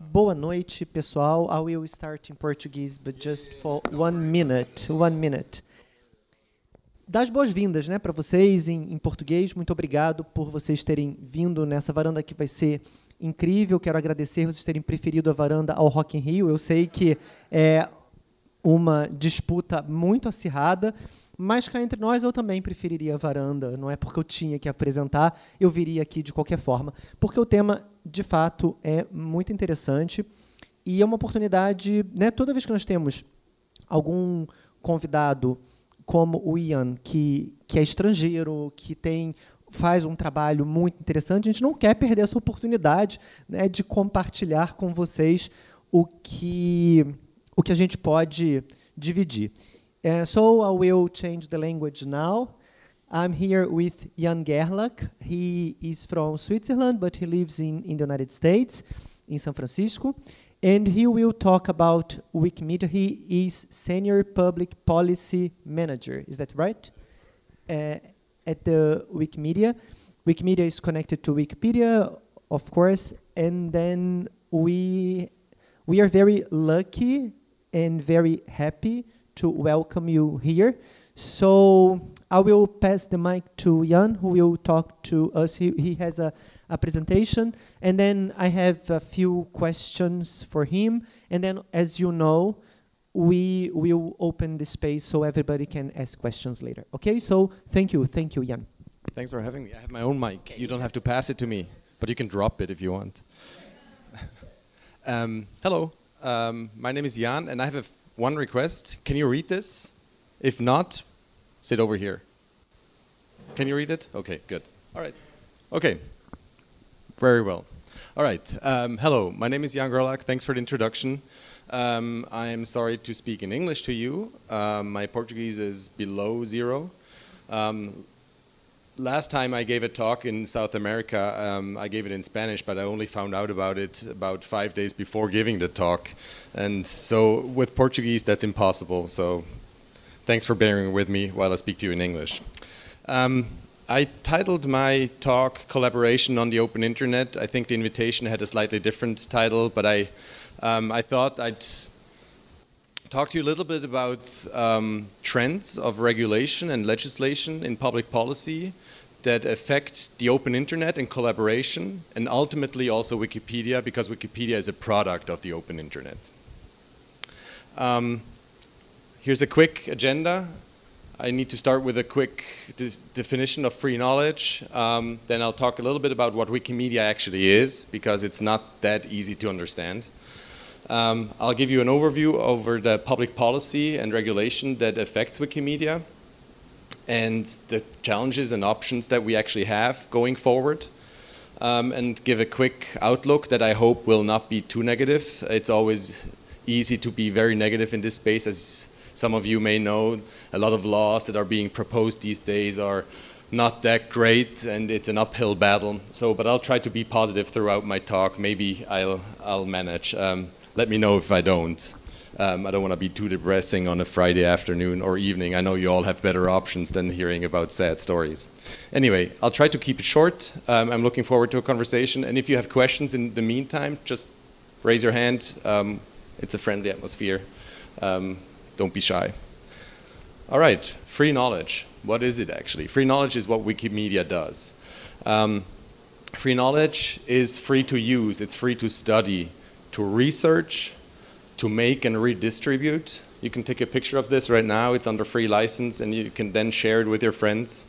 boa noite, pessoal. I will start in Portuguese, but just for 1 minute. 1 minute. Dar as boas-vindas, né, para vocês em português. Muito obrigado por vocês terem vindo nessa varanda que vai ser incrível. Quero agradecer vocês terem preferido a varanda ao Rock in Rio. Eu sei que é uma disputa muito acirrada, mas cá entre nós eu também preferiria a varanda. Não é porque eu tinha que apresentar, eu viria aqui de qualquer forma, porque o tema, de fato, é muito interessante e é uma oportunidade, né, toda vez que nós temos algum convidado como o Ian, que é estrangeiro, que faz um trabalho muito interessante, a gente não quer perder essa oportunidade, né, de compartilhar com vocês o que a gente pode dividir. So I will change the language now. I'm here with Jan Gerlach. He is from Switzerland, but he lives in the United States, in San Francisco. And he will talk about Wikimedia. He is Senior Public Policy Manager. Is that right? At the Wikimedia. Wikimedia is connected to Wikipedia, of course. And then we are very lucky and very happy to welcome you here. So I will pass the mic to Jan, who will talk to us. He has a presentation, and then I have a few questions for him. And then, as you know, we will open the space so everybody can ask questions later. Okay, so thank you, Jan. Thanks for having me. I have my own mic. You don't have to pass it to me, but you can drop it if you want. Hello, my name is Jan, and I have one request. Can you read this? If not, sit over here. Can you read it? Okay, good. All right. Okay. Very well. All right. Hello, my name is Jan Gerlach. Thanks for the introduction. I'm sorry to speak in English to you. My Portuguese is below zero. Last time I gave a talk in South America, I gave it in Spanish, but I only found out about it about 5 days before giving the talk. And so with Portuguese, that's impossible. So thanks for bearing with me while I speak to you in English. I titled my talk Collaboration on the Open Internet. I think the invitation had a slightly different title, but I thought I'd talk to you a little bit about trends of regulation and legislation in public policy that affect the open internet and collaboration, and ultimately also Wikipedia, because Wikipedia is a product of the open internet. Here's a quick agenda. I need to start with a quick definition of free knowledge. Then I'll talk a little bit about what Wikimedia actually is, because it's not that easy to understand. I'll give you an overview over the public policy and regulation that affects Wikimedia and the challenges and options that we actually have going forward, and give a quick outlook that I hope will not be too negative. It's always easy to be very negative in this space. As some of you may know, a lot of laws that are being proposed these days are not that great, and it's an uphill battle. But I'll try to be positive throughout my talk. Maybe I'll manage. Let me know if I don't. I don't want to be too depressing on a Friday afternoon or evening. I know you all have better options than hearing about sad stories. Anyway, I'll try to keep it short. I'm looking forward to a conversation. And if you have questions in the meantime, just raise your hand. It's a friendly atmosphere. Don't be shy. All right, free knowledge. What is it actually? Free knowledge is what Wikimedia does. Free knowledge is free to use. It's free to study, to research, to make and redistribute. You can take a picture of this right now. It's under free license, and you can then share it with your friends.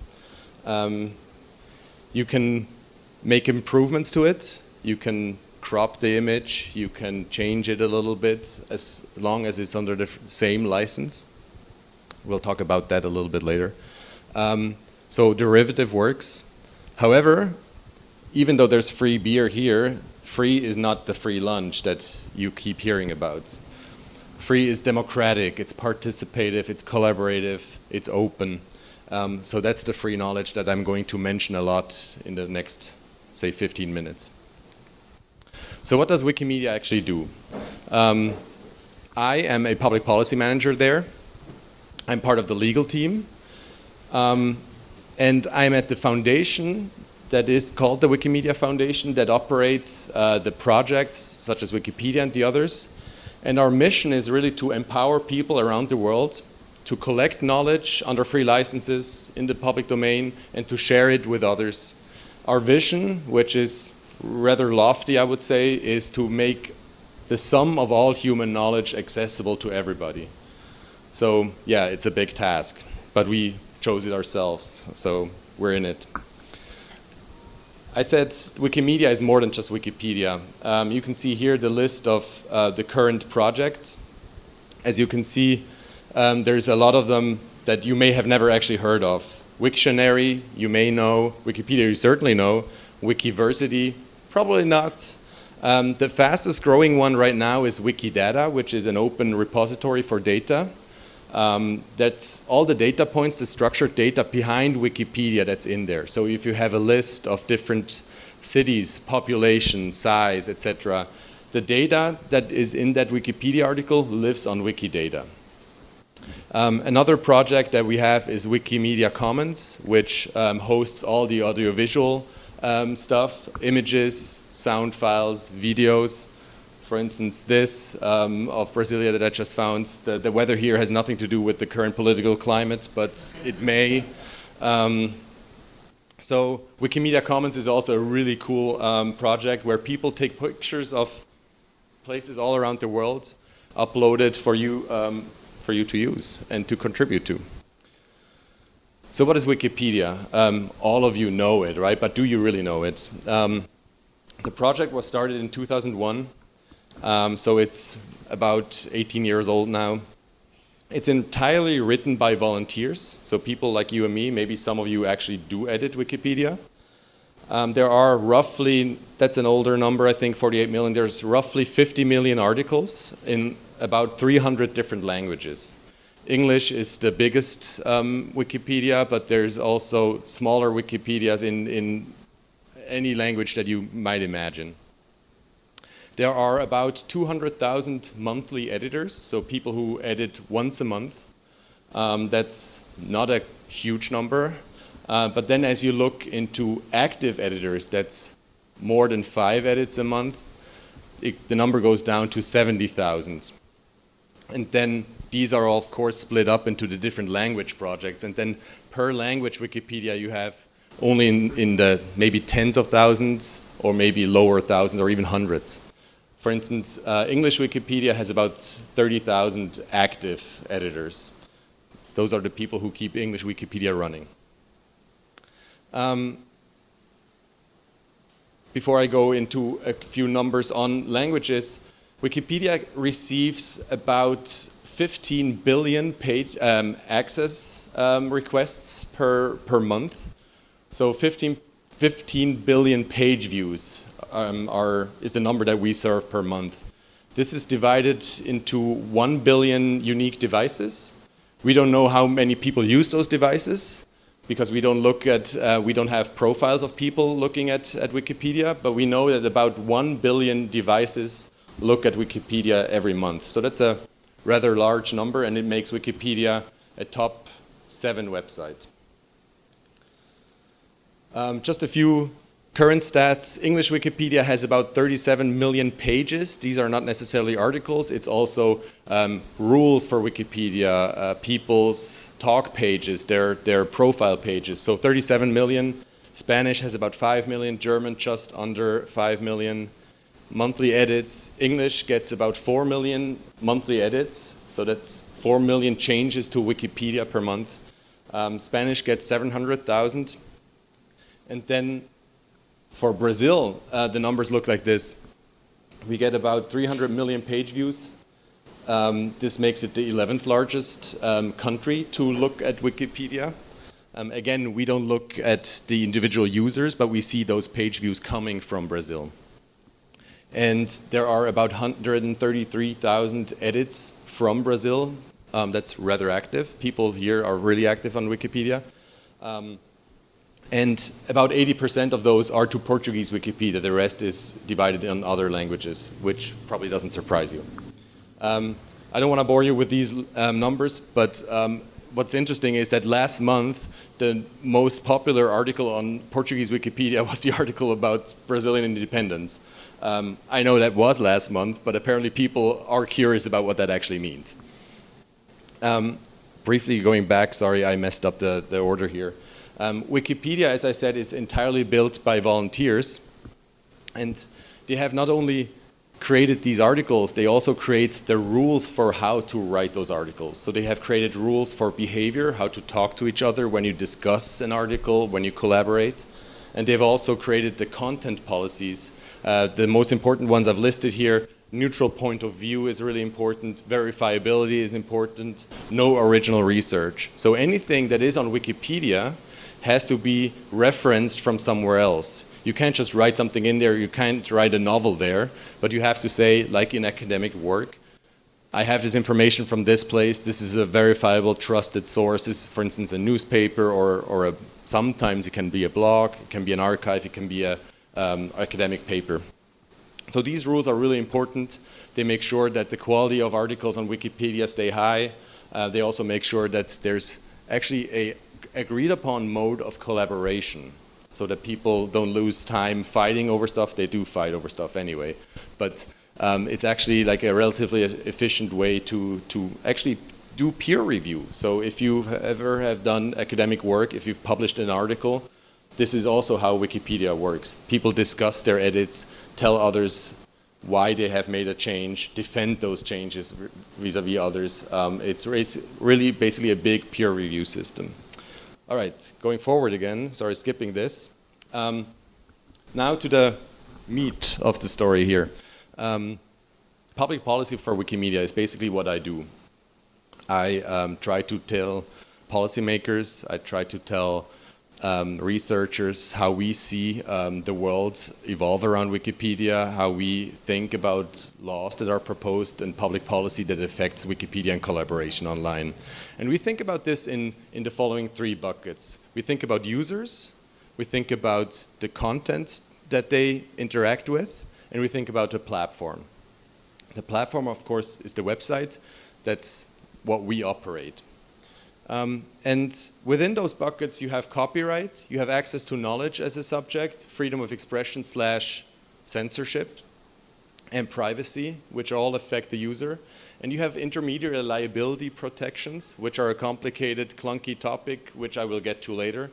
You can make improvements to it. You can crop the image. You can change it a little bit as long as it's under the same license. We'll talk about that a little bit later. So derivative works. However, even though there's free beer here, free is not the free lunch that you keep hearing about. Free is democratic, it's participative, it's collaborative, it's open. So that's the free knowledge that I'm going to mention a lot in the next, say, 15 minutes. So what does Wikimedia actually do? I am a public policy manager there. I'm part of the legal team. And I'm at the foundation that is called the Wikimedia Foundation that operates the projects such as Wikipedia and the others. And our mission is really to empower people around the world to collect knowledge under free licenses in the public domain and to share it with others. Our vision, which is rather lofty, I would say, is to make the sum of all human knowledge accessible to everybody. So yeah, it's a big task, but we chose it ourselves, so we're in it. I said Wikimedia is more than just Wikipedia. You can see here the list of the current projects. As you can see, there's a lot of them that you may have never actually heard of. Wiktionary, you may know. Wikipedia, you certainly know. Wikiversity, probably not. The fastest growing one right now is Wikidata, which is an open repository for data. That's all the data points, the structured data behind Wikipedia that's in there. So if you have a list of different cities, population, size, etc., the data that is in that Wikipedia article lives on Wikidata. Another project that we have is Wikimedia Commons, which hosts all the audiovisual stuff, images, sound files, videos. For instance, this of Brasilia that I just found, the weather here has nothing to do with the current political climate, but it may. So Wikimedia Commons is also a really cool project where people take pictures of places all around the world, upload it for you to use and to contribute to. So what is Wikipedia? All of you know it, right? But do you really know it? The project was started in 2001. So it's about 18 years old now. It's entirely written by volunteers, so people like you and me, maybe some of you actually do edit Wikipedia. There are roughly, that's an older number, I think 48 million, there's roughly 50 million articles in about 300 different languages. English is the biggest Wikipedia, but there's also smaller Wikipedias in any language that you might imagine. There are about 200,000 monthly editors, so people who edit once a month. That's not a huge number. But then as you look into active editors, that's more than 5 edits a month, the number goes down to 70,000. And then these are all, of course, split up into the different language projects. And then per language Wikipedia, you have only in the maybe tens of thousands or maybe lower thousands or even hundreds. For instance, English Wikipedia has about 30,000 active editors. Those are the people who keep English Wikipedia running. Before I go into a few numbers on languages, Wikipedia receives about 15 billion page access requests per month. So 15 billion page views is the number that we serve per month. This is divided into 1 billion unique devices. We don't know how many people use those devices because we don't have profiles of people looking at Wikipedia, but we know that about 1 billion devices look at Wikipedia every month. So that's a rather large number, and it makes Wikipedia a top 7 website. Just a few current stats. English Wikipedia has about 37 million pages. These are not necessarily articles. It's also rules for Wikipedia, people's talk pages, their profile pages. So 37 million. Spanish has about 5 million. German just under 5 million. Monthly edits. English gets about 4 million monthly edits. So that's 4 million changes to Wikipedia per month. Spanish gets 700,000. And then for Brazil, the numbers look like this. We get about 300 million page views. This makes it the 11th largest country to look at Wikipedia. Again, we don't look at the individual users, but we see those page views coming from Brazil. And there are about 133,000 edits from Brazil. That's rather active. People here are really active on Wikipedia. And about 80% of those are to Portuguese Wikipedia. The rest is divided in other languages, which probably doesn't surprise you. I don't want to bore you with these numbers, but what's interesting is that last month, the most popular article on Portuguese Wikipedia was the article about Brazilian independence. I know that was last month, but apparently people are curious about what that actually means. Briefly going back, sorry, I messed up the order here. Wikipedia, as I said, is entirely built by volunteers. And they have not only created these articles, they also create the rules for how to write those articles. So they have created rules for behavior, how to talk to each other when you discuss an article, when you collaborate. And they've also created the content policies. The most important ones I've listed here. Neutral point of view is really important. Verifiability is important. No original research. So anything that is on Wikipedia has to be referenced from somewhere else. You can't just write something in there, you can't write a novel there, but you have to say, like in academic work, I have this information from this place, this is a verifiable, trusted source. This is, for instance, a newspaper or sometimes it can be a blog, it can be an archive, it can be an academic paper. So these rules are really important. They make sure that the quality of articles on Wikipedia stay high. They also make sure that there's actually a agreed upon mode of collaboration so that people don't lose time fighting over stuff. They do fight over stuff anyway. But it's actually like a relatively efficient way to actually do peer review. So if you ever have done academic work, if you've published an article, this is also how Wikipedia works. People discuss their edits, tell others why they have made a change, defend those changes vis-a-vis others. It's really basically a big peer review system. All right, going forward again, sorry, skipping this. Now to the meat of the story here. Public policy for Wikimedia is basically what I do. I try to tell policymakers, I try to tell researchers how we see the world evolve around Wikipedia, how we think about laws that are proposed and public policy that affects Wikipedia and collaboration online. And we think about this in the following three buckets. We think about users, we think about the content that they interact with, and we think about the platform. The platform, of course, is the website. That's what we operate. And within those buckets, you have copyright, you have access to knowledge as a subject, freedom of expression / censorship, and privacy, which all affect the user. And you have intermediary liability protections, which are a complicated, clunky topic, which I will get to later.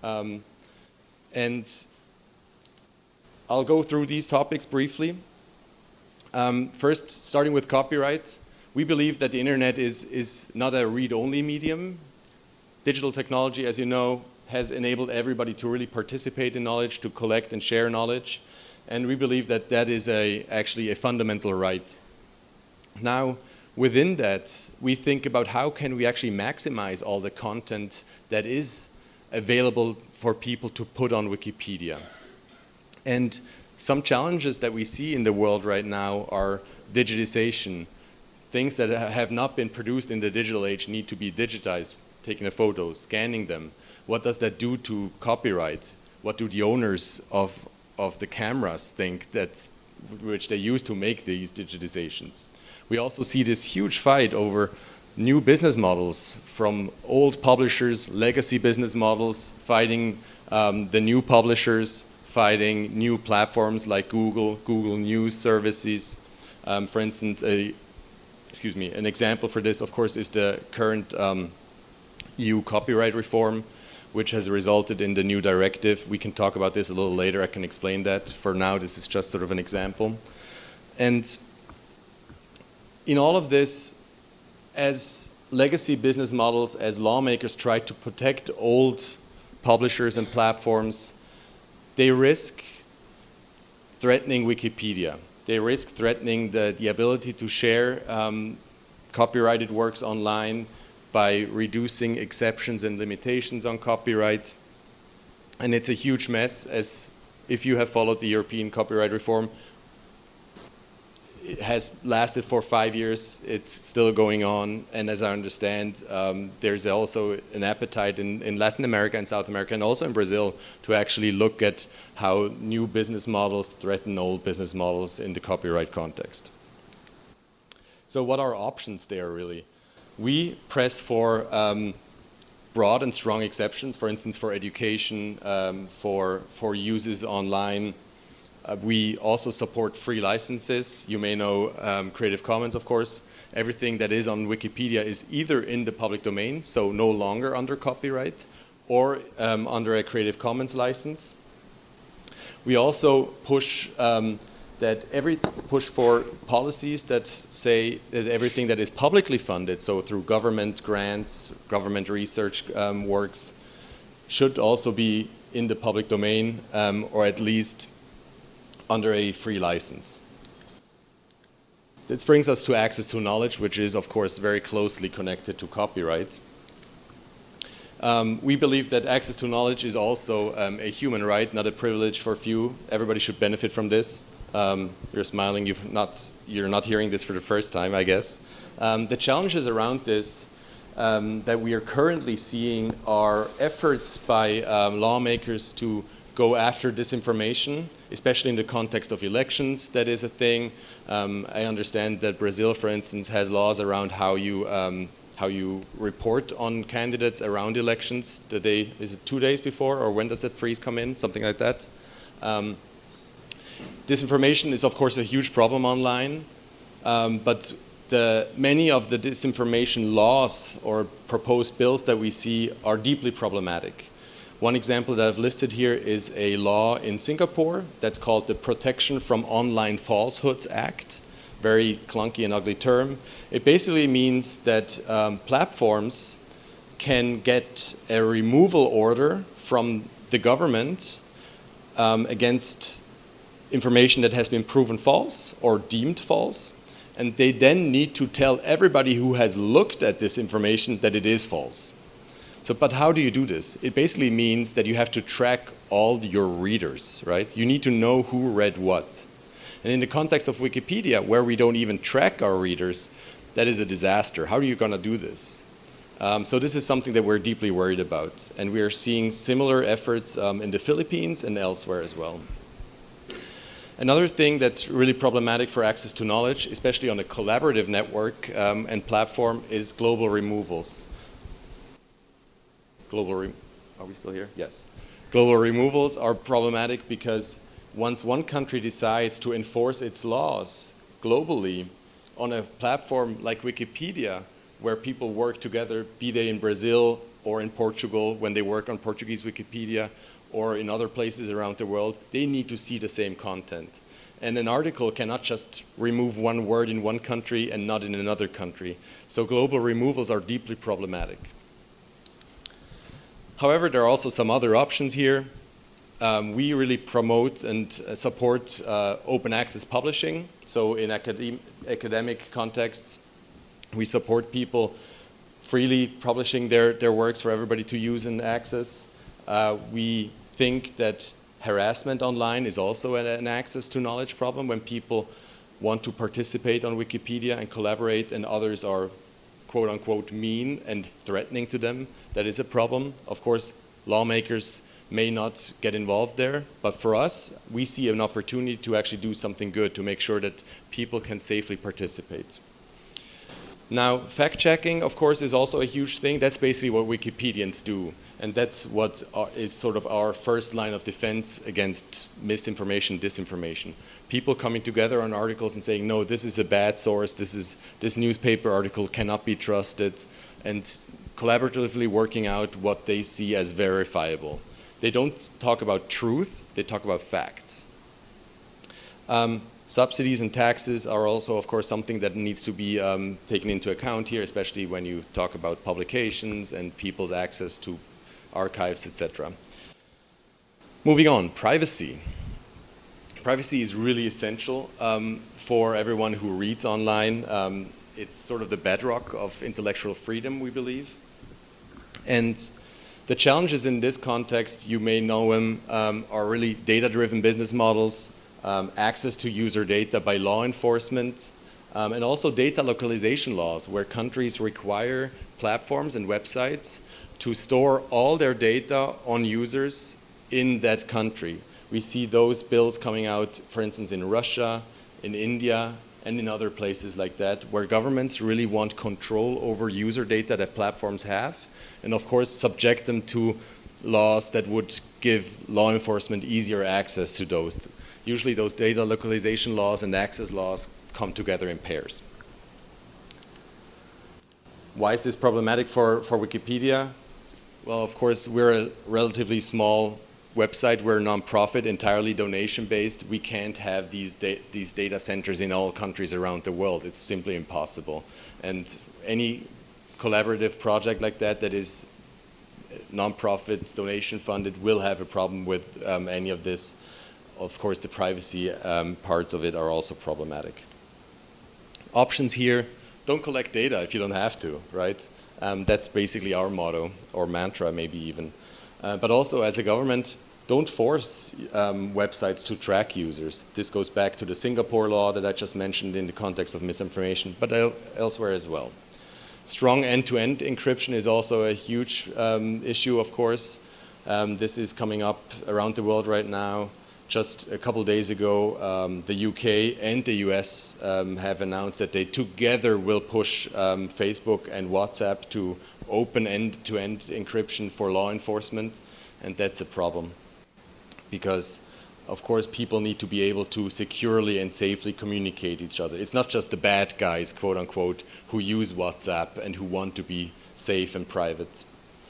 And I'll go through these topics briefly. First, starting with copyright. We believe that the internet is not a read-only medium. Digital technology, as you know, has enabled everybody to really participate in knowledge, to collect and share knowledge. And we believe that that is actually a fundamental right. Now, within that, we think about how can we actually maximize all the content that is available for people to put on Wikipedia. And some challenges that we see in the world right now are digitization. Things that have not been produced in the digital age need to be digitized, taking a photo, scanning them. What does that do to copyright? What do the owners of the cameras think which they use to make these digitizations? We also see this huge fight over new business models from old publishers, legacy business models, fighting the new publishers, fighting new platforms like Google News services. For instance, an example for this, of course, is the current EU copyright reform, which has resulted in the new directive. We can talk about this a little later. I can explain that. For now, this is just sort of an example. And in all of this, as legacy business models, as lawmakers try to protect old publishers and platforms, they risk threatening Wikipedia. They risk threatening the ability to share copyrighted works online by reducing exceptions and limitations on copyright. And it's a huge mess, as if you have followed the European copyright reform, it has lasted for 5 years. It's still going on. And as I understand, there's also an appetite in Latin America and South America and also in Brazil to actually look at how new business models threaten old business models in the copyright context. So what are options there, really? We press for broad and strong exceptions, for instance, for education, for uses online. We also support free licenses. You may know Creative Commons, of course. Everything that is on Wikipedia is either in the public domain, so no longer under copyright, or under a Creative Commons license. We also push push for policies that say that everything that is publicly funded, so through government grants, government research works, should also be in the public domain, or at least under a free license. This brings us to access to knowledge, which is, of course, very closely connected to copyright. We believe that access to knowledge is also a human right, not a privilege for few. Everybody should benefit from this. You're smiling, you're not hearing this for the first time, I guess. The challenges around this that we are currently seeing are efforts by lawmakers to go after disinformation, especially in the context of elections. That is a thing. I understand that Brazil, for instance, has laws around how you report on candidates around elections. Is it 2 days before, or when does that freeze come in? Something like that. Disinformation is, of course, a huge problem online, but many of the disinformation laws or proposed bills that we see are deeply problematic. One example that I've listed here is a law in Singapore that's called the Protection from Online Falsehoods Act. Very clunky and ugly term. It basically means that platforms can get a removal order from the government against information that has been proven false or deemed false, and they then need to tell everybody who has looked at this information that it is false. But how do you do this? It basically means that you have to track all your readers, right? You need to know who read what. And in the context of Wikipedia, where we don't even track our readers, that is a disaster. How are you going to do this? So this is something that we're deeply worried about. And we are seeing similar efforts in the Philippines and elsewhere as well. Another thing that's really problematic for access to knowledge, especially on a collaborative network and platform, is global removals. Are we still here? Yes. Global removals are problematic because once one country decides to enforce its laws globally on a platform like Wikipedia, where people work together, be they in Brazil or in Portugal, when they work on Portuguese Wikipedia, or in other places around the world, they need to see the same content. And an article cannot just remove one word in one country and not in another country. So global removals are deeply problematic. However, there are also some other options here. We really promote and support open access publishing. So in academic contexts, we support people freely publishing their works for everybody to use and access. We think that harassment online is also an access to knowledge problem when people want to participate on Wikipedia and collaborate and others are quote unquote mean and threatening to them. That is a problem. Of course, lawmakers may not get involved there, but for us, we see an opportunity to actually do something good to make sure that people can safely participate. Now, fact-checking, of course, is also a huge thing. That's basically what Wikipedians do, and that's what is sort of our first line of defense against misinformation, disinformation. People coming together on articles and saying, no, this is a bad source, this newspaper article cannot be trusted, and collaboratively working out what they see as verifiable. They don't talk about truth, they talk about facts. Subsidies and taxes are also, of course, something that needs to be taken into account here, especially when you talk about publications and people's access to archives, etc. Moving on, privacy. Privacy is really essential for everyone who reads online. It's sort of the bedrock of intellectual freedom, we believe. And the challenges in this context, you may know them, are really data-driven business models, access to user data by law enforcement, and also data localization laws, where countries require platforms and websites to store all their data on users in that country. We see those bills coming out, for instance, in Russia, in India, and in other places like that, where governments really want control over user data that platforms have, and of course subject them to laws that would give law enforcement easier access to those. Usually those data localization laws and access laws come together in pairs. Why is this problematic for Wikipedia? Well, of course, we're a relatively small website. We're a nonprofit, entirely donation-based. We can't have these data centers in all countries around the world. It's simply impossible. And any collaborative project like that is nonprofit, donation-funded, will have a problem with any of this. Of course, the privacy parts of it are also problematic. Options here: don't collect data if you don't have to, right? That's basically our motto, or mantra maybe even. But also, as a government, don't force websites to track users. This goes back to the Singapore law that I just mentioned in the context of misinformation, but elsewhere as well. Strong end-to-end encryption is also a huge issue, of course. This is coming up around the world right now. Just a couple days ago, the UK and the US have announced that they together will push Facebook and WhatsApp to open end-to-end encryption for law enforcement, and that's a problem. Because, of course, people need to be able to securely and safely communicate each other. It's not just the bad guys, quote unquote, who use WhatsApp and who want to be safe and private.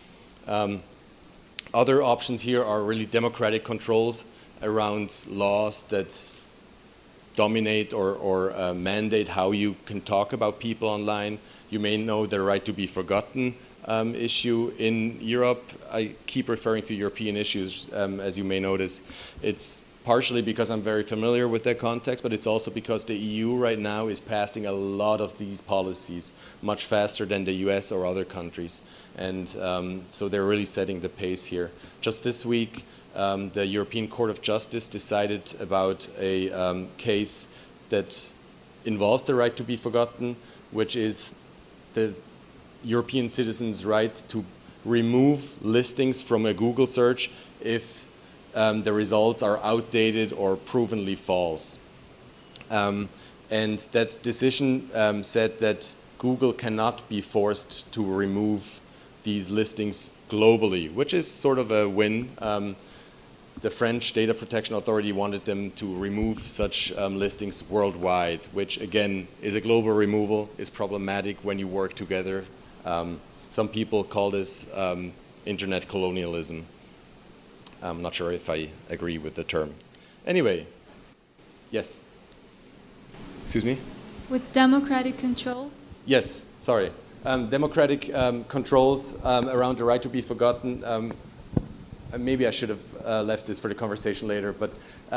Other options here are really democratic controls around laws that dominate or mandate how you can talk about people online. You may know the right to be forgotten issue in Europe. I keep referring to European issues, as you may notice. It's partially because I'm very familiar with that context, but it's also because the EU right now is passing a lot of these policies much faster than the US or other countries. And so they're really setting the pace here. Just this week, the European Court of Justice decided about a case that involves the right to be forgotten, which is the European citizens' right to remove listings from a Google search if the results are outdated or provenly false. And that decision said that Google cannot be forced to remove these listings globally, which is sort of a win. The French Data Protection Authority wanted them to remove such listings worldwide, which again is a global removal, is problematic when you work together. Some people call this internet colonialism. I'm not sure if I agree with the term. Anyway, yes? Excuse me? With democratic control? Yes, sorry. Democratic controls around the right to be forgotten. Maybe I should have left this for the conversation later, but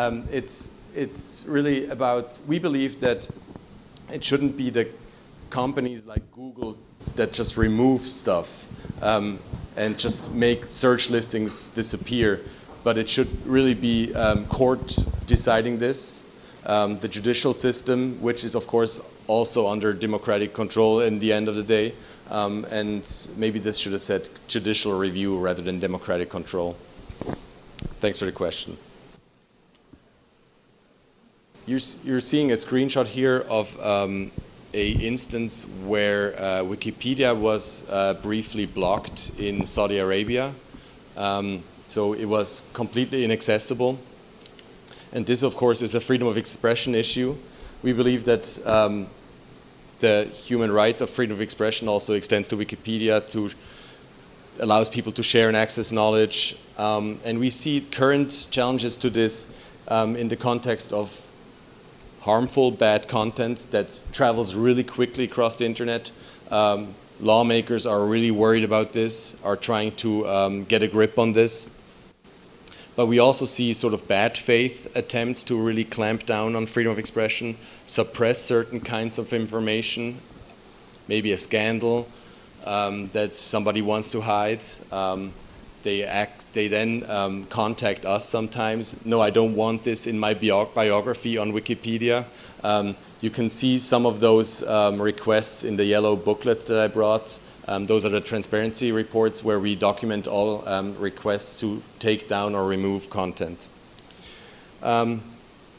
it's really about, we believe that it shouldn't be the companies like Google that just remove stuff and just make search listings disappear, but it should really be court deciding this, the judicial system, which is of course also under democratic control in the end of the day, and maybe this should have said judicial review rather than democratic control. Thanks for the question. You're seeing a screenshot here of a instance where Wikipedia was briefly blocked in Saudi Arabia. So it was completely inaccessible. And this, of course, is a freedom of expression issue. We believe that the human right of freedom of expression also extends to Wikipedia, to allows people to share and access knowledge. And we see current challenges to this in the context of harmful, bad content that travels really quickly across the internet. Lawmakers are really worried about this, are trying to get a grip on this. But we also see sort of bad faith attempts to really clamp down on freedom of expression, suppress certain kinds of information, maybe a scandal that somebody wants to hide. They then contact us sometimes. No, I don't want this in my biography on Wikipedia. You can see some of those requests in the yellow booklets that I brought. Those are the transparency reports where we document all requests to take down or remove content. The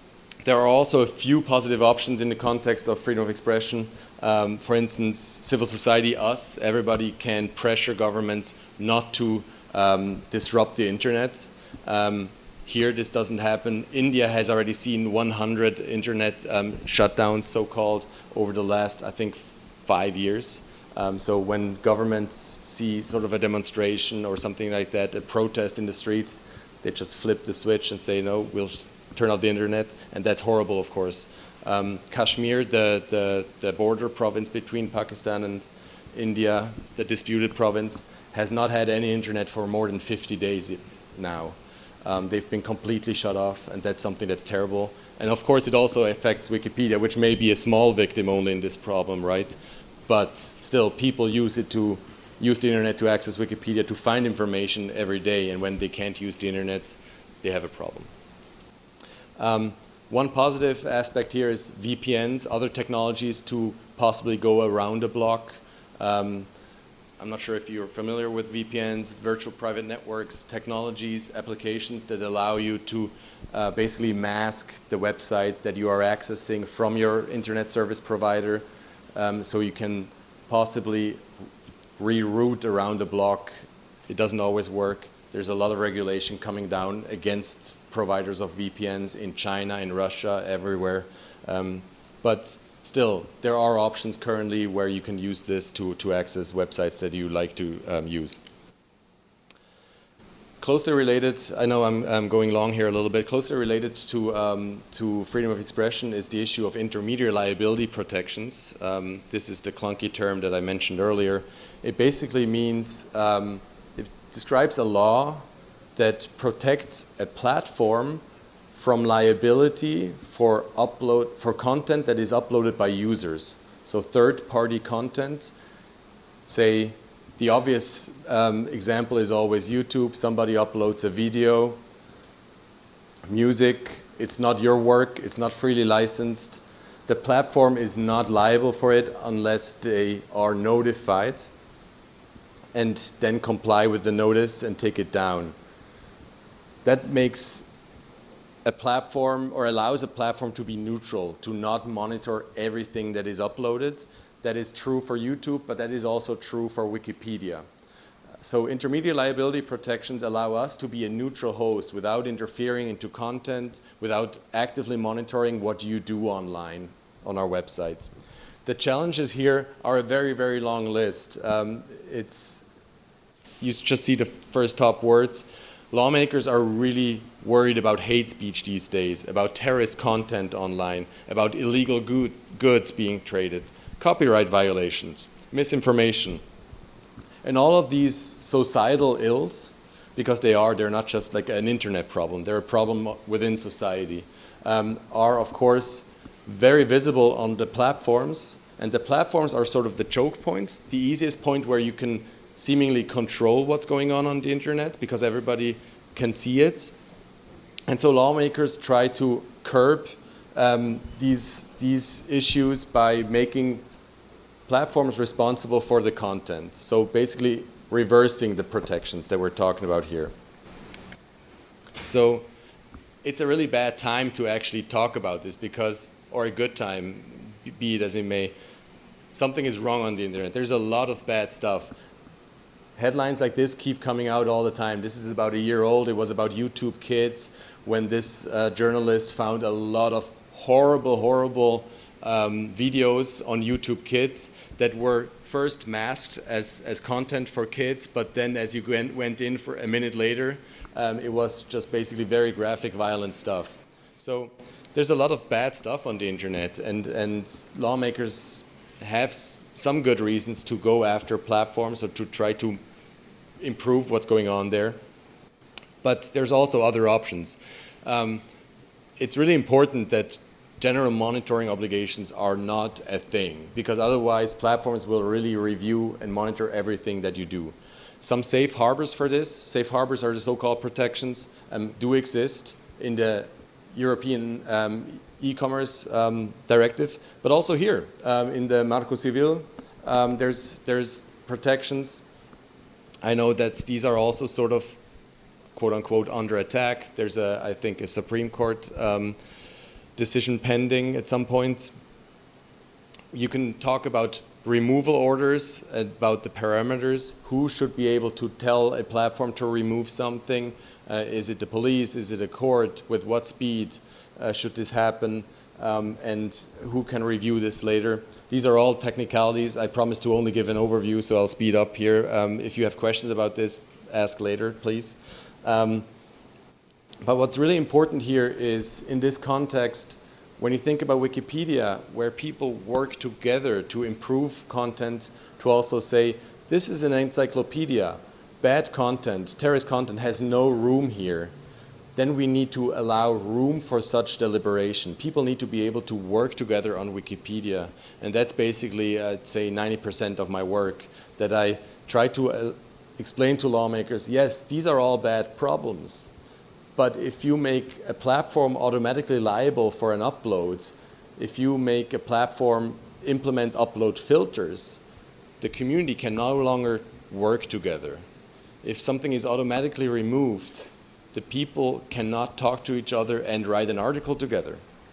There are also a few positive options in the context of freedom of expression. For instance, civil society, us, everybody can pressure governments not to disrupt the internet. Here, this doesn't happen. India has already seen 100 internet shutdowns, so-called, over the last, I think, 5 years. So when governments see sort of a demonstration or something like that, a protest in the streets, they just flip the switch and say, no, we'll turn off the internet, and that's horrible, of course. Kashmir, the border province between Pakistan and India, the disputed province, has not had any internet for more than 50 days now. They've been completely shut off, and that's something that's terrible. And of course, it also affects Wikipedia, which may be a small victim only in this problem, right? But still, people use the internet to access Wikipedia to find information every day, and when they can't use the internet, they have a problem. One positive aspect here is VPNs, other technologies to possibly go around a block. I'm not sure if you're familiar with VPNs, virtual private networks, technologies, applications that allow you to basically mask the website that you are accessing from your internet service provider, so you can possibly reroute around a block. It doesn't always work. There's a lot of regulation coming down against providers of VPNs in China, in Russia, everywhere. But still, there are options currently where you can use this to access websites that you like to use. Closely related, I know I'm going long here a little bit, closely related to freedom of expression is the issue of intermediary liability protections. This is the clunky term that I mentioned earlier. It basically means, it describes a law that protects a platform from liability for content that is uploaded by users. So third-party content, say, the obvious example is always YouTube. Somebody uploads a video, music, it's not your work, it's not freely licensed. The platform is not liable for it unless they are notified and then comply with the notice and take it down. That makes a platform, or allows a platform to be neutral, to not monitor everything that is uploaded. That is true for YouTube, but that is also true for Wikipedia. So intermediate liability protections allow us to be a neutral host without interfering into content, without actively monitoring what you do online on our website. The challenges here are a very, very long list. You just see the first top words. Lawmakers are really worried about hate speech these days, about terrorist content online, about illegal goods being traded, copyright violations, misinformation. And all of these societal ills, because they're not just like an internet problem, they're a problem within society, are of course very visible on the platforms. And the platforms are sort of the choke points, the easiest point where you can seemingly control what's going on the internet because everybody can see it. And so lawmakers try to curb these issues by making platforms responsible for the content. So basically reversing the protections that we're talking about here. So it's a really bad time to actually talk about this because, or a good time, be it as it may, something is wrong on the internet. There's a lot of bad stuff. Headlines like this keep coming out all the time. This is about a year old. It was about YouTube Kids when this journalist found a lot of horrible videos on YouTube Kids that were first masked as content for kids, but then as you went in for a minute later, it was just basically very graphic, violent stuff. So there's a lot of bad stuff on the internet, and lawmakers have some good reasons to go after platforms or to try to improve what's going on there. But there's also other options. It's really important that general monitoring obligations are not a thing, because otherwise platforms will really review and monitor everything that you do. Some safe harbors for this, safe harbors are the so-called protections, do exist in the European e-commerce directive, but also here in the Marco Civil, there's protections. I know that these are also sort of quote unquote under attack. There's I think a Supreme Court decision pending at some point. You can talk about removal orders, about the parameters, who should be able to tell a platform to remove something. Is it the police? Is it a court? With what speed should this happen? And who can review this later? These are all technicalities. I promise to only give an overview, so I'll speed up here. If you have questions about this, ask later, please. But what's really important here is, in this context, when you think about Wikipedia, where people work together to improve content, to also say, this is an encyclopedia, bad content, terrorist content has no room here, then we need to allow room for such deliberation. People need to be able to work together on Wikipedia. And that's basically, I'd say, 90% of my work, that I try to explain to lawmakers, yes, these are all bad problems. But if you make a platform automatically liable for an upload, if you make a platform implement upload filters, the community can no longer work together. If something is automatically removed, the people cannot talk to each other and write an article together.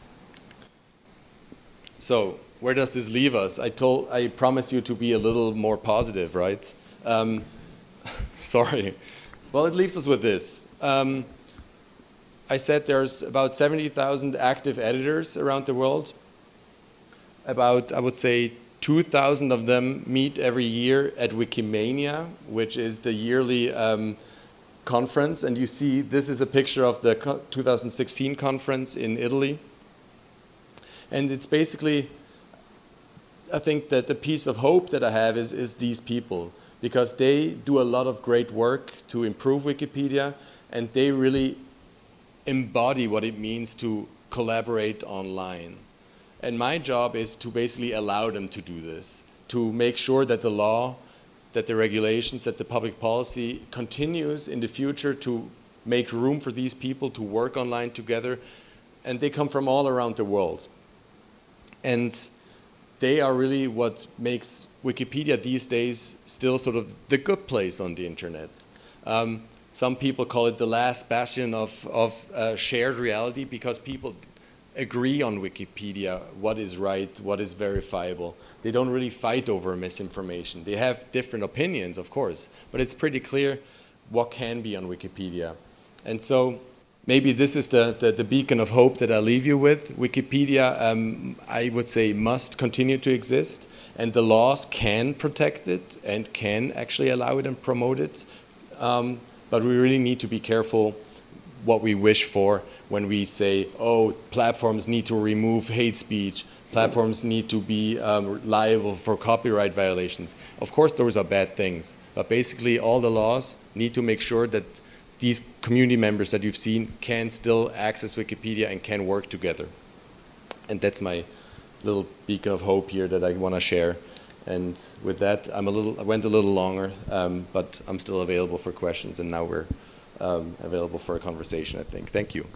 So where does this leave us? I promised you to be a little more positive, right? Sorry. Well, it leaves us with this. I said there's about 70,000 active editors around the world. About, I would say, 2,000 of them meet every year at Wikimania, which is the yearly conference. And you see, this is a picture of the 2016 conference in Italy. And it's basically, I think that the piece of hope that I have is these people, because they do a lot of great work to improve Wikipedia, and they really embody what it means to collaborate online. And my job is to basically allow them to do this, to make sure that the law, that the regulations, that the public policy continues in the future to make room for these people to work online together. And they come from all around the world. And they are really what makes Wikipedia these days still sort of the good place on the internet. Some people call it the last bastion of shared reality, because people agree on Wikipedia what is right, what is verifiable. They don't really fight over misinformation. They have different opinions, of course, but it's pretty clear what can be on Wikipedia. And so maybe this is the beacon of hope that I'll leave you with. Wikipedia, I would say, must continue to exist, and the laws can protect it and can actually allow it and promote it. But we really need to be careful what we wish for when we say, oh, platforms need to remove hate speech, platforms need to be liable for copyright violations. Of course, those are bad things, but basically all the laws need to make sure that these community members that you've seen can still access Wikipedia and can work together. And that's my little beacon of hope here that I want to share. And with that, I went a little longer, but I'm still available for questions, and now we're available for a conversation, I think. Thank you.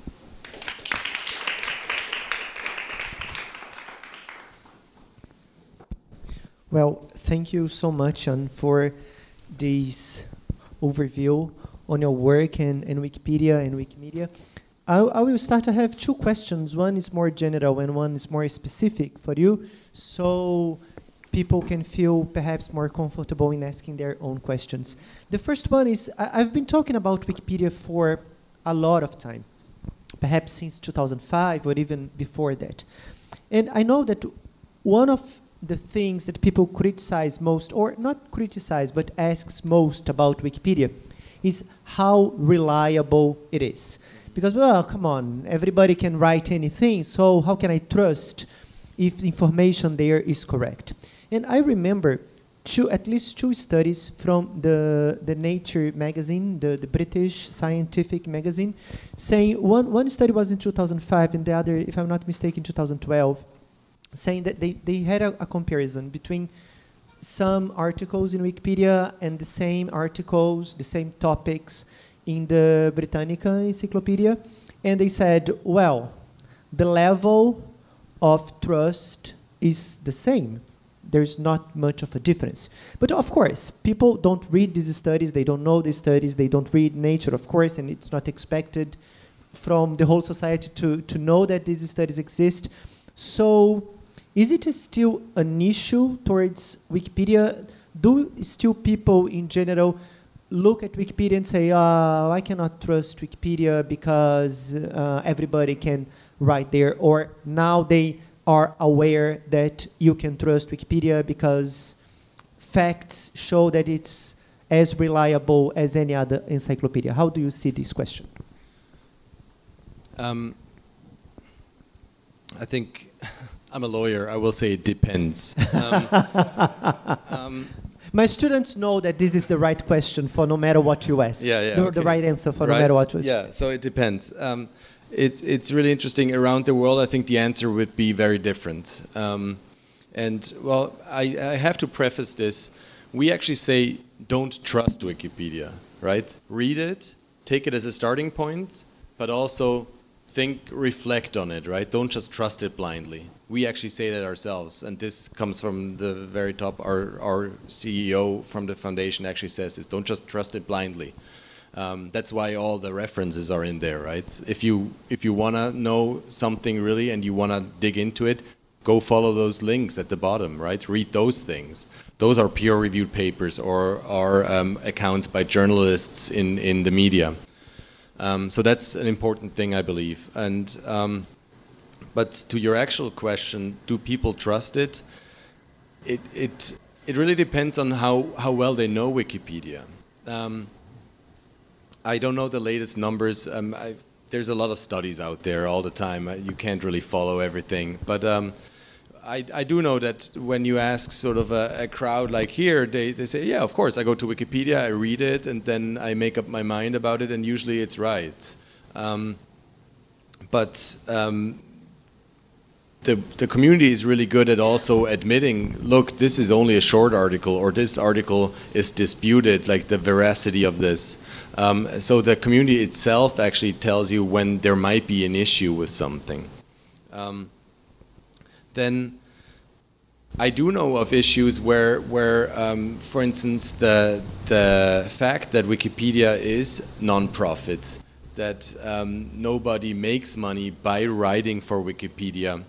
Well, thank you so much, Jan, for this overview on your work in Wikipedia and Wikimedia. I will start. I have two questions. One is more general and one is more specific for you, so people can feel perhaps more comfortable in asking their own questions. The first one is, I've been talking about Wikipedia for a lot of time, perhaps since 2005 or even before that. And I know that one of the things that people criticize most, or not criticize, but asks most about Wikipedia, is how reliable it is. Because, well, come on, everybody can write anything, so how can I trust if the information there is correct? And I remember at least two studies from the Nature magazine, the British scientific magazine, saying one study was in 2005 and the other, if I'm not mistaken, 2012, saying that they had a comparison between some articles in Wikipedia and the same articles, the same topics in the Britannica Encyclopedia. And they said, well, the level of trust is the same. There's not much of a difference. But of course, people don't read these studies, they don't know these studies, they don't read Nature, of course, and it's not expected from the whole society to know that these studies exist. So is it still an issue towards Wikipedia? Do still people in general look at Wikipedia and say, I cannot trust Wikipedia because everybody can write there, or now they are aware that you can trust Wikipedia because facts show that it's as reliable as any other encyclopedia? How do you see this question? I think I'm a lawyer. I will say it depends. My students know that this is the right question for no matter what you ask. The right answer for no matter what you ask. Yeah, so it depends. It's really interesting. Around the world, I think the answer would be very different. And, well, I have to preface this. We actually say don't trust Wikipedia, right? Read it, take it as a starting point, but also reflect on it, right? Don't just trust it blindly. We actually say that ourselves, and this comes from the very top. Our CEO from the foundation actually says this: don't just trust it blindly. That's why all the references are in there, right? If you want to know something really and you want to dig into it, go follow those links at the bottom, right? Read those things. Those are peer-reviewed papers or accounts by journalists in the media. So that's an important thing, I believe. And but to your actual question, do people trust it? It really depends on how well they know Wikipedia. I don't know the latest numbers. There's a lot of studies out there all the time. You can't really follow everything. But I do know that when you ask sort of a crowd like here, they say, yeah, of course, I go to Wikipedia, I read it, and then I make up my mind about it, and usually it's right. But the community is really good at also admitting, look, this is only a short article, or this article is disputed, like the veracity of this. So the community itself actually tells you when there might be an issue with something. Then I do know of issues where for instance, the fact that Wikipedia is non-profit, that nobody makes money by writing for Wikipedia,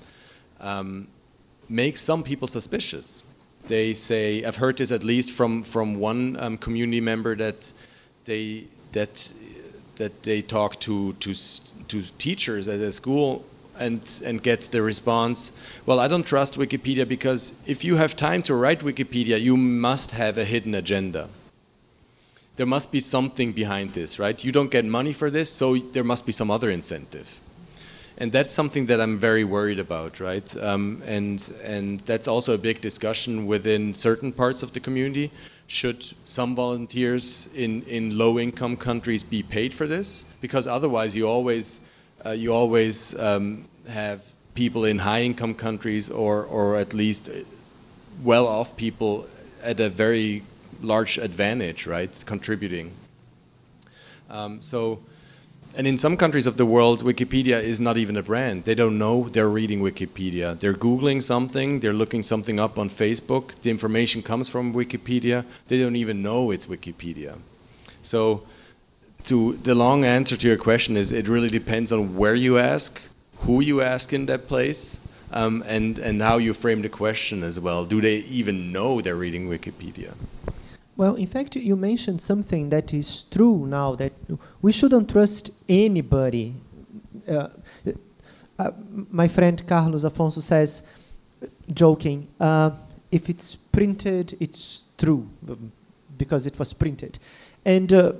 makes some people suspicious. They say, I've heard this at least from one community member that they talk to teachers at a school and gets the response, well, I don't trust Wikipedia because if you have time to write Wikipedia, you must have a hidden agenda. There must be something behind this, right? You don't get money for this, so there must be some other incentive. And that's something that I'm very worried about, right? And that's also a big discussion within certain parts of the community. Should some volunteers in low-income countries be paid for this? Because otherwise, you always have people in high-income countries or at least well-off people at a very large advantage, right? Contributing. And in some countries of the world, Wikipedia is not even a brand. They don't know they're reading Wikipedia. They're Googling something, they're looking something up on Facebook. The information comes from Wikipedia. They don't even know it's Wikipedia. So the long answer to your question is it really depends on where you ask, who you ask in that place, and how you frame the question as well. Do they even know they're reading Wikipedia? Well, in fact, you mentioned something that is true now, that we shouldn't trust anybody. My friend Carlos Afonso says, joking, if it's printed, it's true, because it was printed. And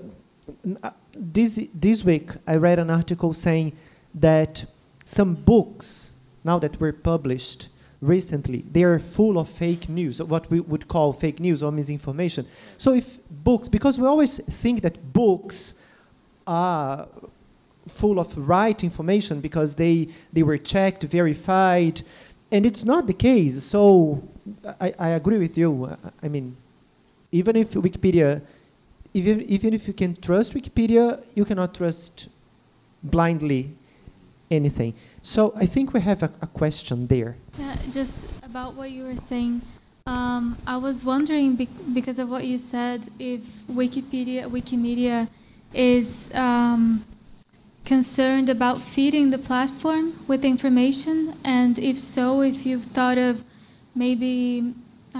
this week, I read an article saying that some books, now that were published recently, they are full of fake news, what we would call fake news or misinformation. So if books, because we always think that books are full of right information because they were checked, verified, and it's not the case. So I agree with you. I mean, even if Wikipedia, even if you can trust Wikipedia, you cannot trust blindly anything. So I think we have a question there. Yeah, just about what you were saying. I was wondering, because of what you said, if Wikimedia is concerned about feeding the platform with information? And if so, if you've thought of maybe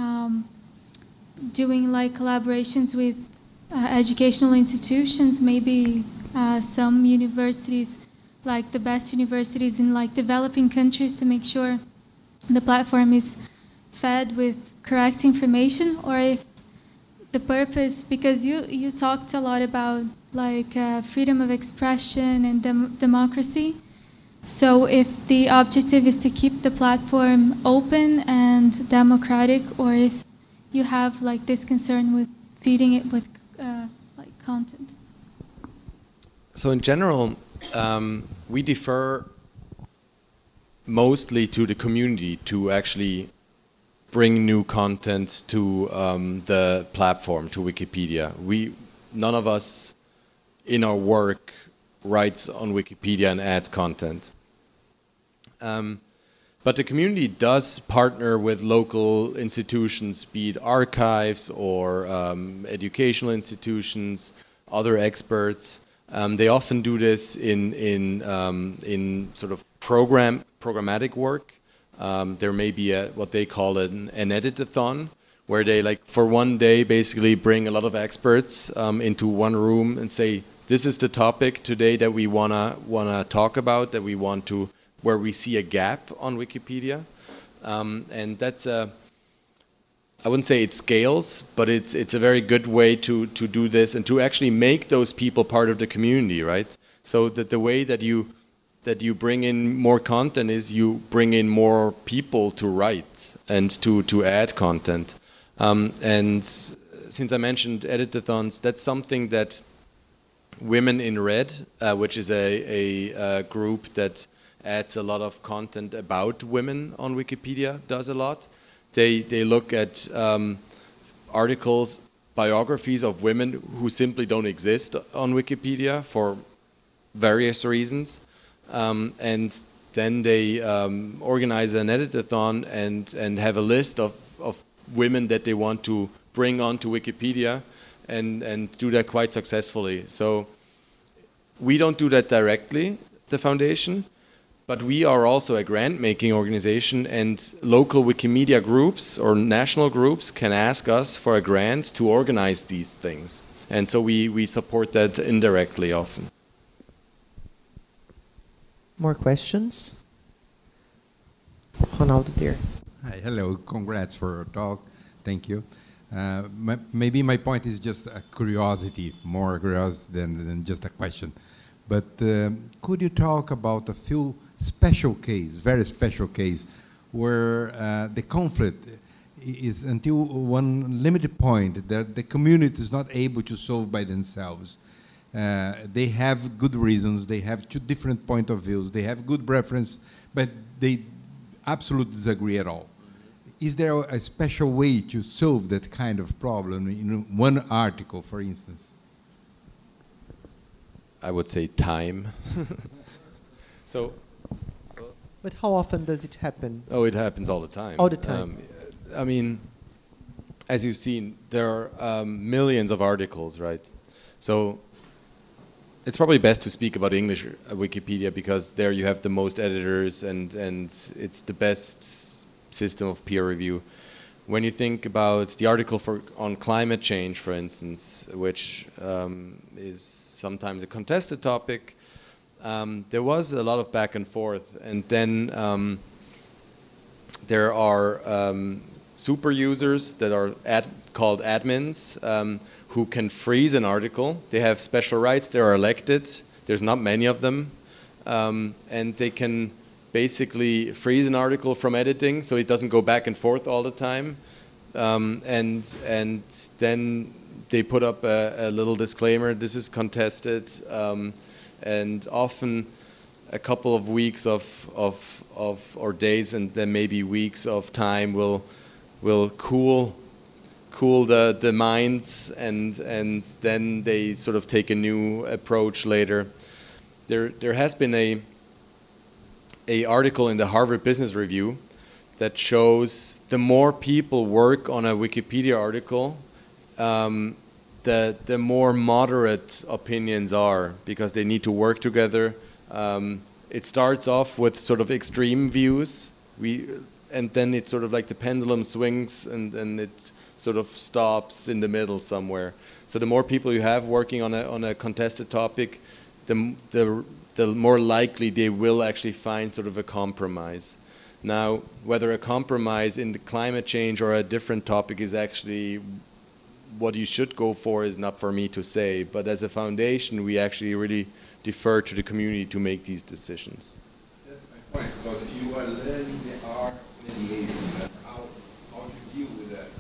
doing like collaborations with educational institutions, maybe some universities, like the best universities in like developing countries, to make sure the platform is fed with correct information, or if the purpose, because you talked a lot about like freedom of expression and democracy. So if the objective is to keep the platform open and democratic, or if you have like this concern with feeding it with like content. So in general, we defer mostly to the community to actually bring new content to the platform, to Wikipedia. None of us in our work writes on Wikipedia and adds content. But the community does partner with local institutions, be it archives or educational institutions, other experts. They often do this in sort of programmatic work. There may be what they call an edit-a-thon, where they like for one day basically bring a lot of experts into one room and say, this is the topic today that we wanna talk about, that we want to, where we see a gap on Wikipedia, and that's I wouldn't say it scales, but it's a very good way to do this and to actually make those people part of the community, right? So that the way that you bring in more content is you bring in more people to write and to add content. And since I mentioned edit-a-thons, that's something that Women in Red, which is a group that adds a lot of content about women on Wikipedia, does a lot. They look at articles, biographies of women who simply don't exist on Wikipedia for various reasons. And then they organize an edit-a-thon and have a list of women that they want to bring onto Wikipedia and do that quite successfully. So we don't do that directly, the foundation, but we are also a grant-making organization, and local Wikimedia groups or national groups can ask us for a grant to organize these things. And so we support that indirectly often. More questions? Ronaldo there. Hi, hello. Congrats for your talk. Thank you. Maybe my point is just a curiosity, more curiosity than just a question. But could you talk about a few special case, very special case, where the conflict is until one limited point that the community is not able to solve by themselves? They have good reasons, they have two different point of views, they have good reference, but they absolutely disagree at all. Is there a special way to solve that kind of problem in one article, for instance? I would say time. So. But how often does it happen? Oh, it happens all the time. All the time. I mean, as you've seen, there are millions of articles, right? So it's probably best to speak about English Wikipedia, because there you have the most editors and it's the best system of peer review. When you think about the article on climate change, for instance, which is sometimes a contested topic, there was a lot of back and forth, and then there are super users that are called admins who can freeze an article. They have special rights. They are elected. There's not many of them, and they can basically freeze an article from editing so it doesn't go back and forth all the time, and then they put up a little disclaimer: this is contested. And often a couple of weeks or days, and then maybe weeks of time will cool the minds, and then they sort of take a new approach later. There has been a article in the Harvard Business Review that shows the more people work on a Wikipedia article, the more moderate opinions are, because they need to work together. It starts off with sort of extreme views, and then it's sort of like the pendulum swings, and then it sort of stops in the middle somewhere. So the more people you have working on a contested topic, the more likely they will actually find sort of a compromise. Now, whether a compromise in the climate change or a different topic is actually what you should go for is not for me to say. But as a foundation, we actually really defer to the community to make these decisions. That's my point, because you are learning the art of mediation, how to deal with that.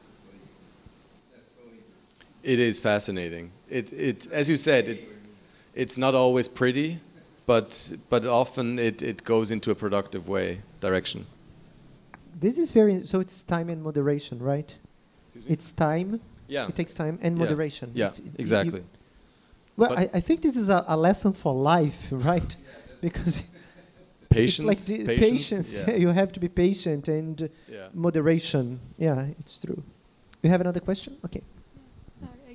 That's so interesting. It is fascinating. It as you said, it's not always pretty, but often it goes into a productive direction. This is so it's time and moderation, right? It's time. Yeah. It takes time and moderation. Yeah, exactly. Well, I think this is a lesson for life, right? Because patience. It's like patience. Yeah. You have to be patient and moderation. Yeah, it's true. You have another question? Okay. Sorry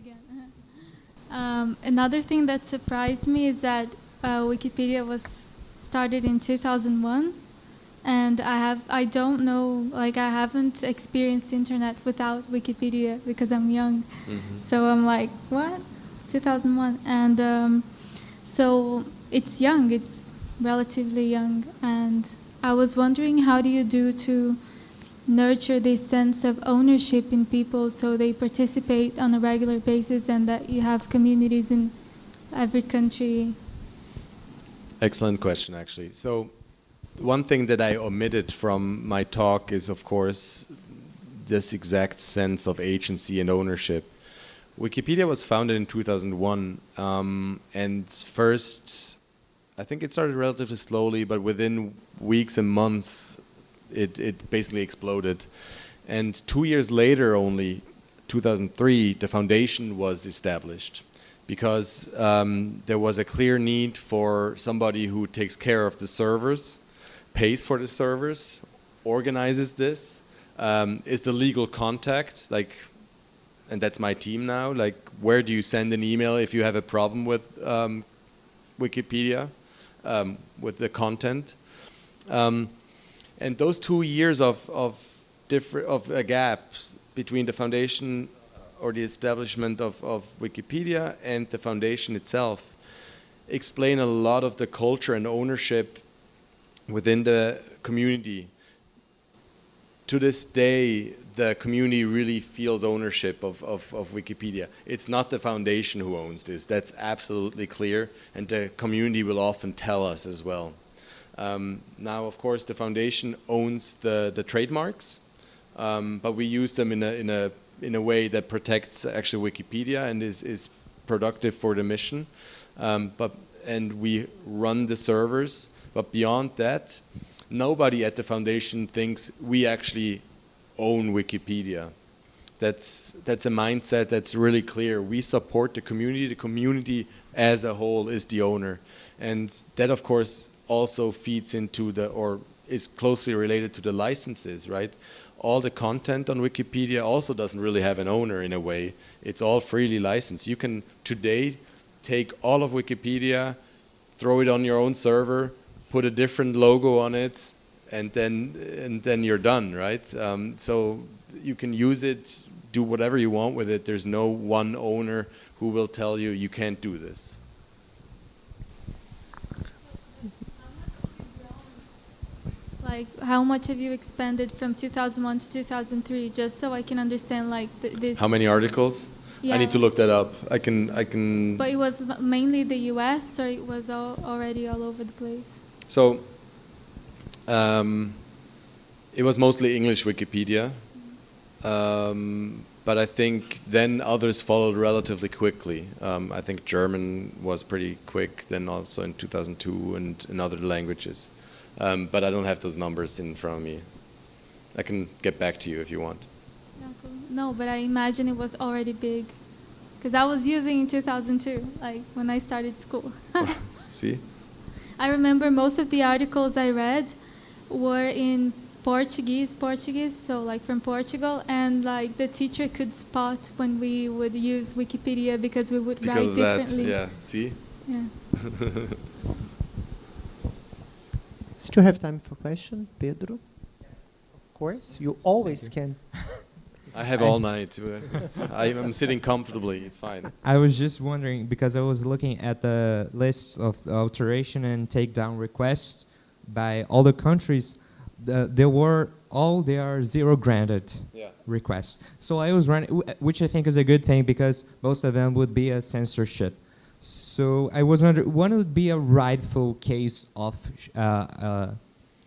again. Another thing that surprised me is that Wikipedia was started in 2001, and I don't know, like I haven't experienced internet without Wikipedia because I'm young. Mm-hmm. So I'm like, what? 2001, and so it's young. It's relatively young, and I was wondering, how do you do to nurture this sense of ownership in people so they participate on a regular basis, and that you have communities in every country? Excellent question, actually. So one thing that I omitted from my talk is, of course, this exact sense of agency and ownership. Wikipedia was founded in 2001, and first, I think it started relatively slowly, but within weeks and months, it basically exploded. And 2 years later, only 2003, the foundation was established, because there was a clear need for somebody who takes care of the servers, pays for the servers, organizes this, is the legal contact, and that's my team now. Like, where do you send an email if you have a problem with Wikipedia, with the content? And those 2 years of a gap between the foundation or the establishment of Wikipedia and the foundation itself explain a lot of the culture and ownership within the community. To this day, the community really feels ownership of Wikipedia. It's not the foundation who owns this. That's absolutely clear, and the community will often tell us as well. Now, of course, the foundation owns the trademarks, but we use them in a way that protects actually Wikipedia and is productive for the mission. And we run the servers, but beyond that, nobody at the foundation thinks we actually own Wikipedia. That's a mindset that's really clear. We support the community. The community as a whole is the owner. And that, of course, also feeds into or is closely related to the licenses, right? All the content on Wikipedia also doesn't really have an owner in a way. It's all freely licensed. You can today take all of Wikipedia, throw it on your own server, put a different logo on it, and then you're done, right? So you can use it, do whatever you want with it. There's no one owner who will tell you you can't do this. Like, how much have you expanded from 2001 to 2003, just so I can understand, like, this? How many articles? Yeah. I need to look that up. I can. But it was mainly the U.S., or it was already all over the place? So, it was mostly English Wikipedia, but I think then others followed relatively quickly. I think German was pretty quick, then also in 2002 and in other languages. But I don't have those numbers in front of me. I can get back to you if you want. Yeah, cool. No, but I imagine it was already big, because I was using in 2002, like when I started school. See? I remember most of the articles I read were in Portuguese, so like from Portugal, and like the teacher could spot when we would use Wikipedia because we would Because write of that, differently. yeah. See? Yeah. Still have time for question, Pedro? Of course, you always can. I have all night. I'm sitting comfortably. It's fine. I was just wondering, because I was looking at the list of alteration and takedown requests by all the countries. There are 0 granted requests. So I was running, which I think is a good thing because most of them would be a censorship. So I was wondering, what would be a rightful case of a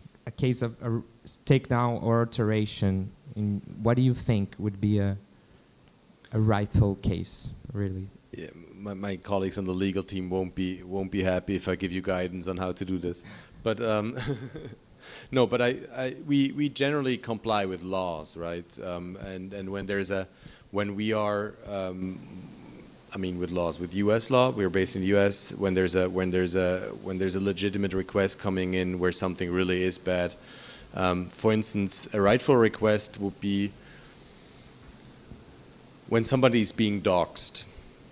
takedown or alteration? What do you think would be a rightful case, really? Yeah, my colleagues on the legal team won't be happy if I give you guidance on how to do this. But no, but we generally comply with laws, right? And when we are, with laws, with U.S. law, we're based in the U.S. When there's a legitimate request coming in where something really is bad. For instance, a rightful request would be when somebody is being doxxed,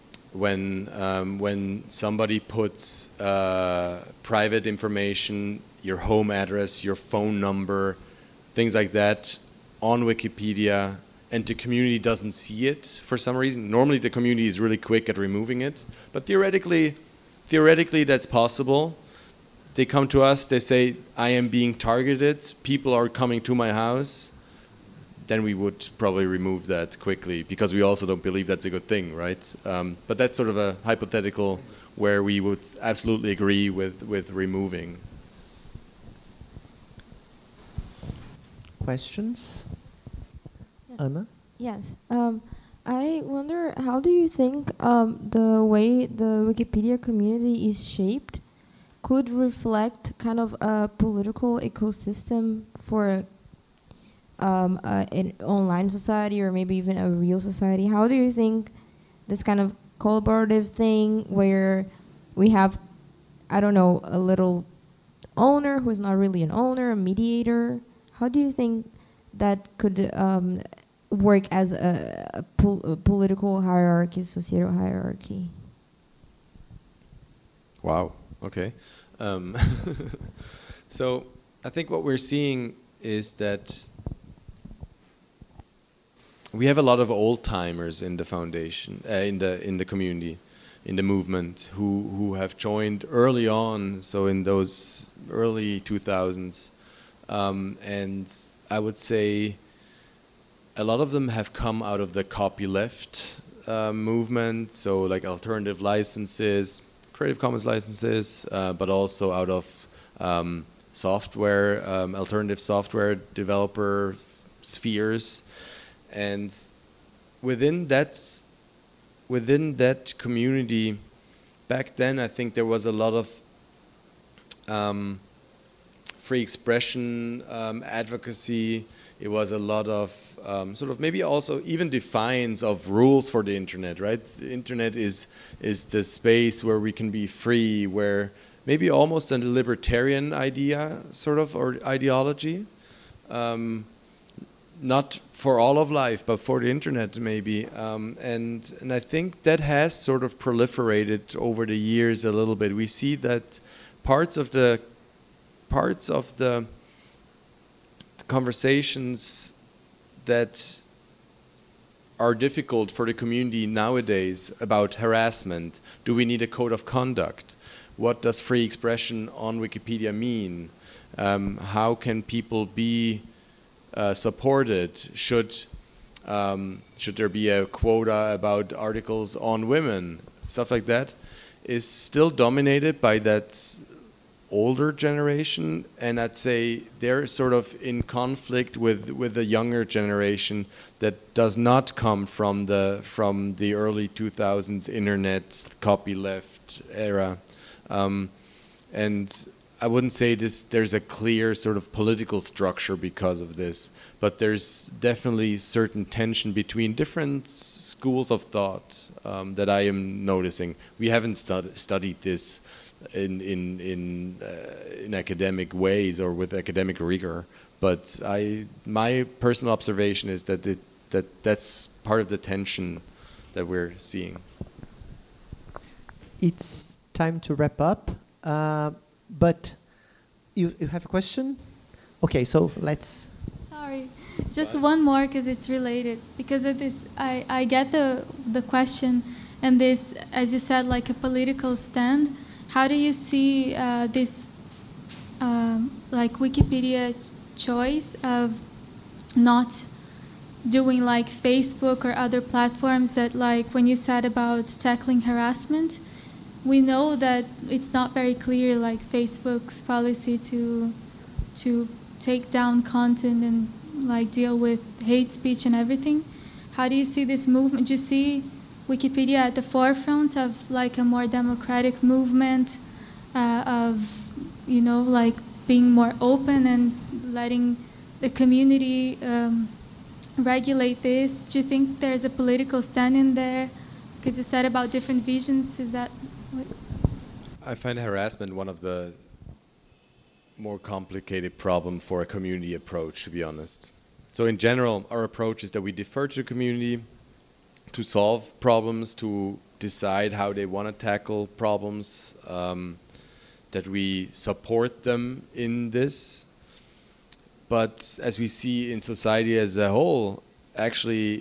when somebody puts private information, your home address, your phone number, things like that, on Wikipedia, and the community doesn't see it for some reason. Normally, the community is really quick at removing it, but theoretically, that's possible. They come to us, they say, I am being targeted, people are coming to my house, then we would probably remove that quickly because we also don't believe that's a good thing, right? But that's sort of a hypothetical where we would absolutely agree with removing. Questions? Yeah. Anna? Yes. I wonder, how do you think the way the Wikipedia community is shaped could reflect kind of a political ecosystem for an online society or maybe even a real society? How do you think this kind of collaborative thing where we have, I don't know, a little owner who's not really an owner, a mediator, how do you think that could work as a political hierarchy, societal hierarchy? Wow. Okay. So I think what we're seeing is that we have a lot of old timers in the foundation, in the community, in the movement, who have joined early on. So in those early 2000s, and I would say a lot of them have come out of the copyleft movement. So like alternative licenses, Creative Commons licenses, but also out of software, alternative software developer spheres. And within that community, back then I think there was a lot of free expression advocacy. It was a lot of sort of maybe also even defiance of rules for the internet, right? The internet is the space where we can be free, where maybe almost a libertarian idea sort of or ideology. Not for all of life, but for the internet maybe. And I think that has sort of proliferated over the years a little bit. We see that parts of the conversations that are difficult for the community nowadays about harassment. Do we need a code of conduct? What does free expression on Wikipedia mean? How can people be supported? Should there be a quota about articles on women? Stuff like that is still dominated by that older generation, and I'd say they're sort of in conflict with the younger generation that does not come from the early 2000s internet copyleft era, and I wouldn't say there's a clear sort of political structure because of this, but there's definitely certain tension between different schools of thought that I am noticing. We haven't studied this in academic ways or with academic rigor. But my personal observation is that that's part of the tension that we're seeing. It's time to wrap up, but you have a question? Okay, so let's... Sorry, just one more because it's related. Because of this, I get the question, and this, as you said, like a political stand. How do you see this, like Wikipedia choice of not doing like Facebook or other platforms that, like when you said about tackling harassment, we know that it's not very clear, like Facebook's policy to take down content and like deal with hate speech and everything. How do you see this movement? Do you see Wikipedia at the forefront of like a more democratic movement of, you know, like being more open and letting the community regulate this? Do you think there's a political stand in there? Because you said about different visions, is that what? I find harassment one of the more complicated problem for a community approach, to be honest. So in general, our approach is that we defer to the community to solve problems, to decide how they want to tackle problems, that we support them in this. But as we see in society as a whole, actually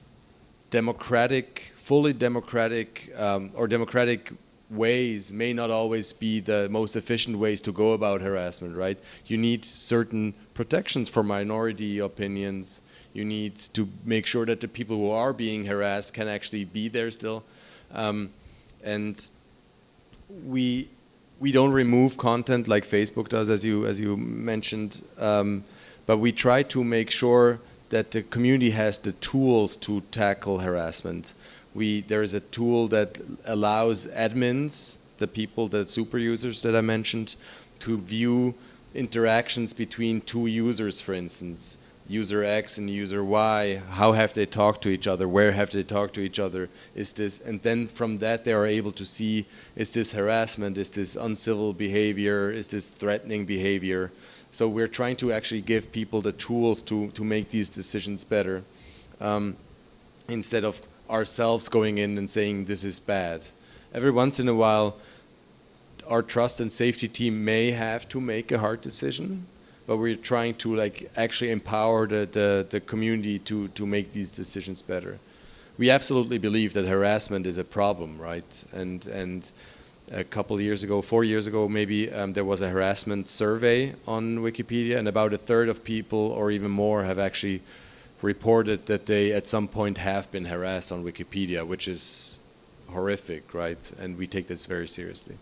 fully democratic or democratic ways may not always be the most efficient ways to go about harassment, right? You need certain protections for minority opinions. You need to make sure that the people who are being harassed can actually be there still. And we don't remove content like Facebook does, as you mentioned, but we try to make sure that the community has the tools to tackle harassment. There is a tool that allows admins, the people, the super users that I mentioned, to view interactions between two users, for instance, user X and user Y. How have they talked to each other? Where have they talked to each other? And then from that they are able to see, is this harassment? Is this uncivil behavior? Is this threatening behavior? So we're trying to actually give people the tools to make these decisions better, instead of ourselves going in and saying this is bad. Every once in a while, our trust and safety team may have to make a hard decision, but we're trying to like actually empower the community to make these decisions better. We absolutely believe that harassment is a problem, right? And a couple of years ago, 4 years ago maybe, there was a harassment survey on Wikipedia, and about a third of people or even more have actually reported that they at some point have been harassed on Wikipedia, which is horrific, right? And we take this very seriously.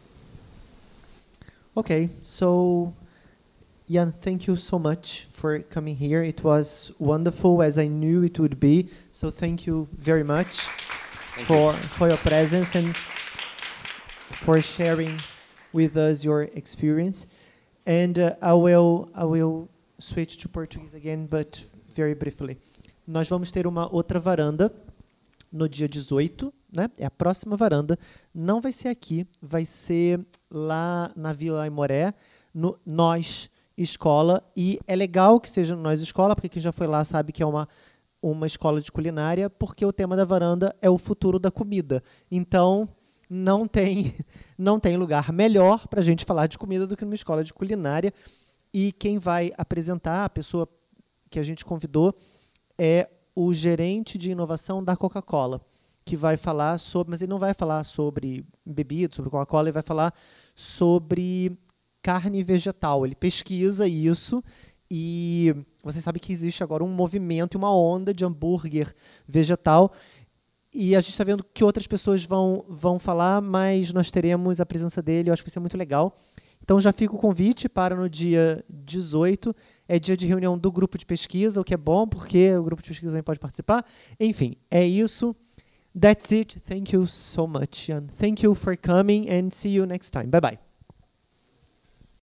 Okay, so Jan, thank you so much for coming here. It was wonderful, as I knew it would be. So thank you very much for your presence and for sharing with us your experience. And I will switch to Portuguese again, but very briefly. Nós vamos ter uma outra varanda no dia 18, né? É a próxima varanda. Não vai ser aqui, vai ser lá na Vila Aimoré, no Nós Escola. E é legal que seja no Nós Escola, porque quem já foi lá sabe que é uma escola de culinária, porque o tema da varanda é o futuro da comida. Então, não tem lugar melhor para a gente falar de comida do que numa escola de culinária. E quem vai apresentar, a pessoa que a gente convidou, é o gerente de inovação da Coca-Cola, que vai falar sobre, mas ele não vai falar sobre bebida, sobre Coca-Cola, ele vai falar sobre carne vegetal. Ele pesquisa isso e você sabe que existe agora um movimento e uma onda de hambúrguer vegetal, e a gente está vendo que outras pessoas vão falar, mas nós teremos a presença dele, eu acho que vai ser muito legal. Então já fica o convite para no dia 18, é dia de reunião do grupo de pesquisa, o que é bom, porque o grupo de pesquisa também pode participar. Enfim, é isso. That's it. Thank you so much, Jan. Thank you for coming and see you next time. Bye-bye.